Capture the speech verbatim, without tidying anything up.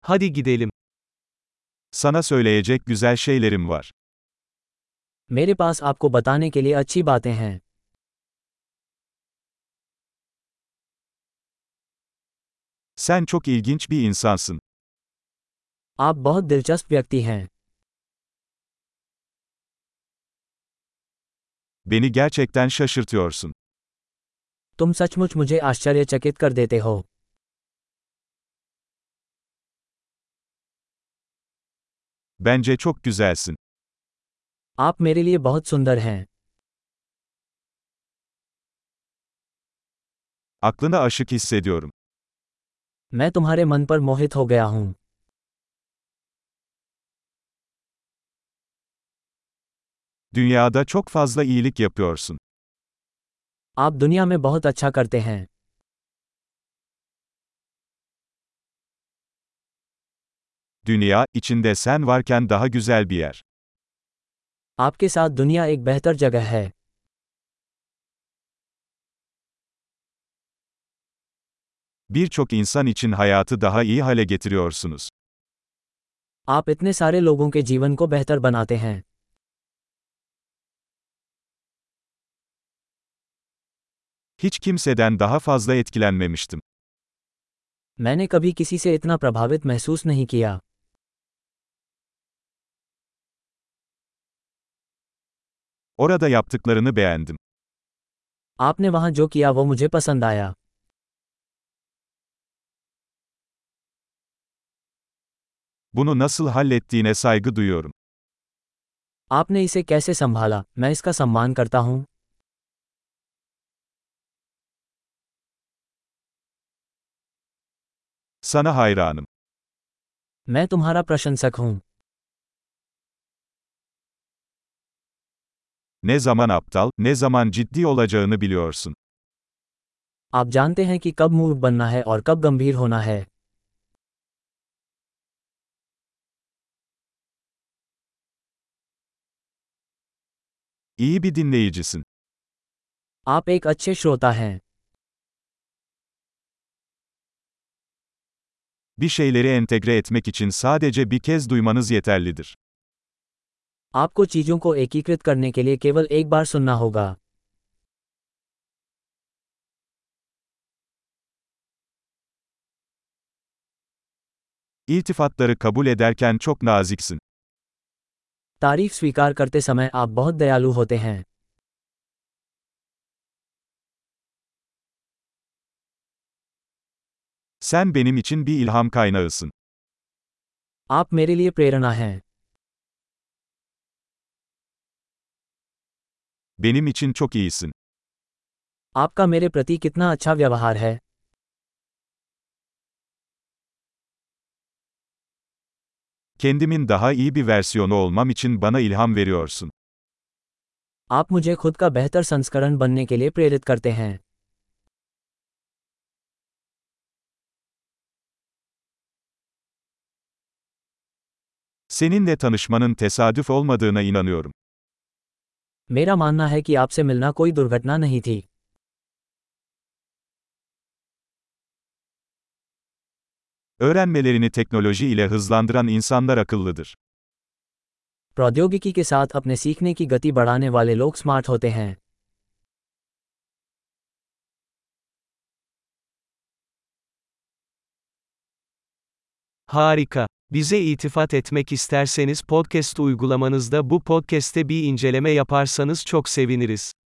Hadi gidelim. Sana söyleyecek güzel şeylerim var. मेरे पास आपको बताने के लिए अच्छी बातें हैं। Sen çok ilginç bir insansın. आप बहुत दिलचस्प व्यक्ति हैं। Beni gerçekten şaşırtıyorsun. तुम सचमुच मुझे आश्चर्यचकित कर देते हो। Bence çok güzelsin. आप मेरे लिए बहुत सुंदर हैं। Aklına aşık hissediyorum. मैं तुम्हारे मन पर मोहित हो गया हूँ। Dünyada çok fazla iyilik yapıyorsun. आप दुनिया में बहुत अच्छा करते हैं। Dünya, içinde sen varken daha güzel bir yer. आपके साथ दुनिया एक बेहतर जगह है। Birçok insan için hayatı daha iyi hale getiriyorsunuz. आप इतने सारे लोगों के जीवन को बेहतर बनाते हैं। Hiç kimseden daha fazla etkilenmemiştim. मैंने कभी किसी से इतना प्रभावित महसूस नहीं किया। Orada yaptıklarını beğendim. आपने वहाँ जो किया वो मुझे पसंद आया। Bunu nasıl hallettiğine saygı duyuyorum. आपने इसे कैसे संभाला, मैं इसका सम्मान करता हूँ। Sana hayranım. मैं तुम्हारा प्रशंसक हूँ। Ne zaman aptal, ne zaman ciddi olacağını biliyorsun. आप जानते हैं कि कब मूर्ख बनना है और कब गंभीर होना है। İyi bir dinleyicisin. आप एक अच्छे श्रोता हैं। Bir şeyleri entegre etmek için sadece bir kez duymanız yeterlidir. आपको चीजों को एकीकृत करने के लिए केवल एक बार सुनना होगा। İltifatları kabul ederken çok naziksin. तारीफ स्वीकार करते समय आप बहुत दयालु होते हैं। Sen benim için bir ilham kaynağısın. आप मेरे लिए प्रेरणा हैं। Benim için çok iyisin. आपका मेरे प्रति कितना अच्छा व्यवहार है। Kendimin daha iyi bir versiyonu olmam için bana ilham veriyorsun. आप मुझे खुद का बेहतर संस्करण बनने के लिए प्रेरित करते हैं। Seninle tanışmanın tesadüf olmadığına inanıyorum. मेरा मानना है कि आपसे मिलना कोई दुर्घटना नहीं थी। Öğrenmelerini teknoloji ile hızlandıran insanlar akıllıdır. प्रौद्योगिकी के साथ अपने सीखने की गति बढ़ाने वाले लोग स्मार्ट होते हैं। Harika. Bize iltifat etmek isterseniz podcast uygulamanızda bu podcast'te bir inceleme yaparsanız çok seviniriz.